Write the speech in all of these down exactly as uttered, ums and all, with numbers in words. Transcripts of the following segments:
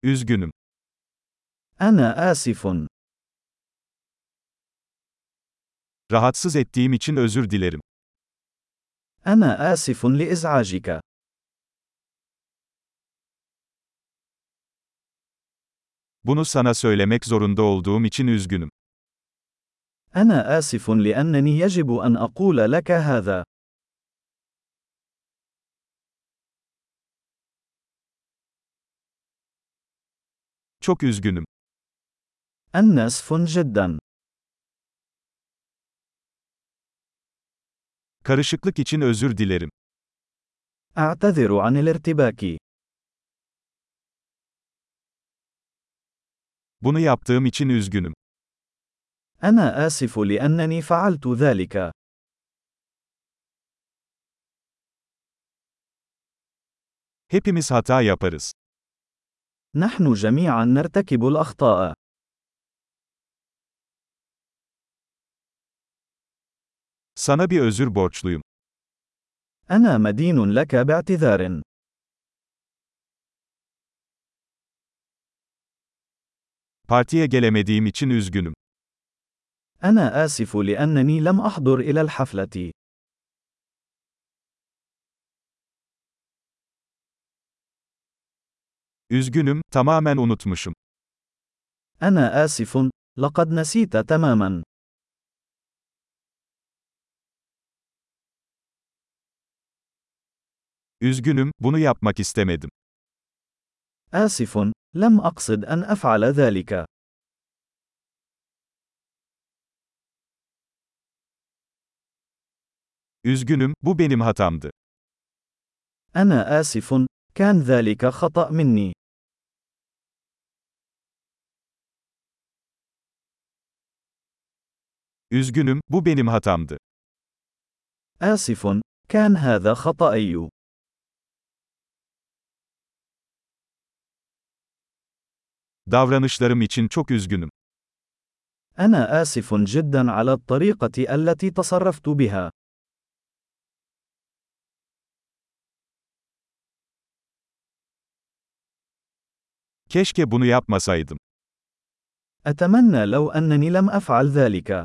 Üzgünüm. أنا آسف. Rahatsız ettiğim için özür dilerim. أنا آسف لإزعاجك. Bunu sana söylemek zorunda olduğum için üzgünüm. أنا آسف لأنني يجب أن أقول لك هذا. Çok üzgünüm. أنا آسف جدا. Karışıklık için özür dilerim. أعتذر عن الارتباك. Bunu yaptığım için üzgünüm. أنا آسف لأنني فعلت ذلك. Hepimiz hata yaparız. نحن جميعا نرتكب الأخطاء. Sana bir özür borçluyum. أنا مدين لك باعتذار. Partiye gelemediğim için üzgünüm. أنا آسف لأنني لم أحضر إلى الحفلة. Üzgünüm, tamamen unutmuşum. أنا آسف. لقد نسيت تماما. Üzgünüm, bunu yapmak istemedim. آسف. لم أقصد أن أفعل ذلك. Üzgünüm, bu benim hatamdı. أنا آسف. كان ذلك خطأ مني. Üzgünüm, bu benim hatamdı. آسف. كان هذا خطأي. Davranışlarım için çok üzgünüm. أنا آسف جدا على الطريقة التي تصرفت بها. Keşke bunu yapmasaydım. أتمنى لو أنني لم أفعل ذلك.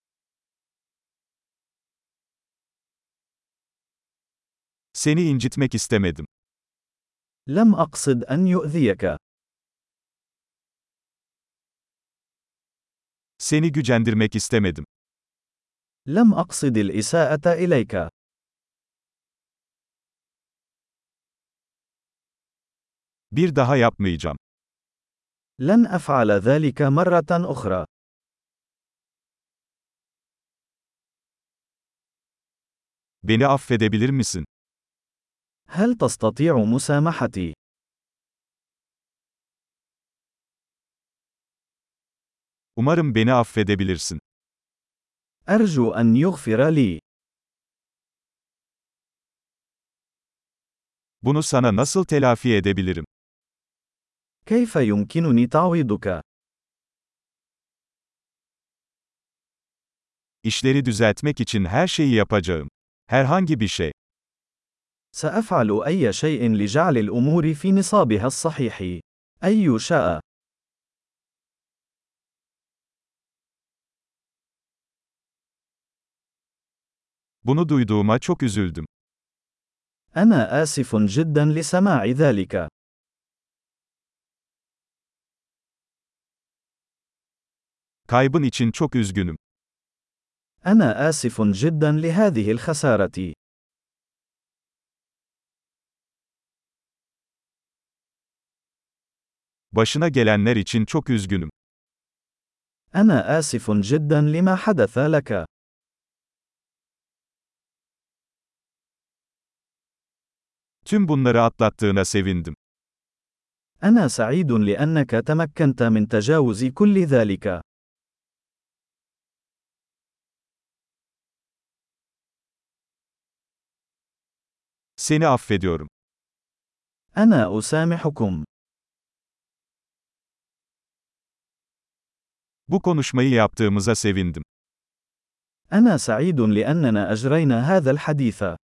Seni incitmek istemedim. لم أقصد أن يؤذيك. Seni gücendirmek istemedim. لم أقصد الإساءة إليك. Bir daha yapmayacağım. لن أفعل ذلك مرة أخرى. Beni affedebilir misin? هل تستطيع مسامحتي؟ Umarım beni affedebilirsin. أرجو أن يغفر لي. Bunu sana nasıl telafi edebilirim? كيف يمكنني تعويضك؟ İşleri düzeltmek için her şeyi yapacağım. Herhangi bir şey. سأفعل أي شيء لجعل الأمور في نصابها الصحيح. أي شاء. Bunu duyduğuma çok üzüldüm. أنا آسف جدا لسماع ذلك. Kaybın için çok üzgünüm. أنا آسف جدا لهذه الخسارة. Başına gelenler için çok üzgünüm. أنا آسف جدا لما حدث لك. Tüm bunları atlattığına sevindim. أنا سعيد لأنك تمكنت من تجاوز كل ذلك. Seni affediyorum. أنا أسامحكم. Bu konuşmayı yaptığımıza sevindim. أنا سعيد لأننا أجرينا هذا الحديث.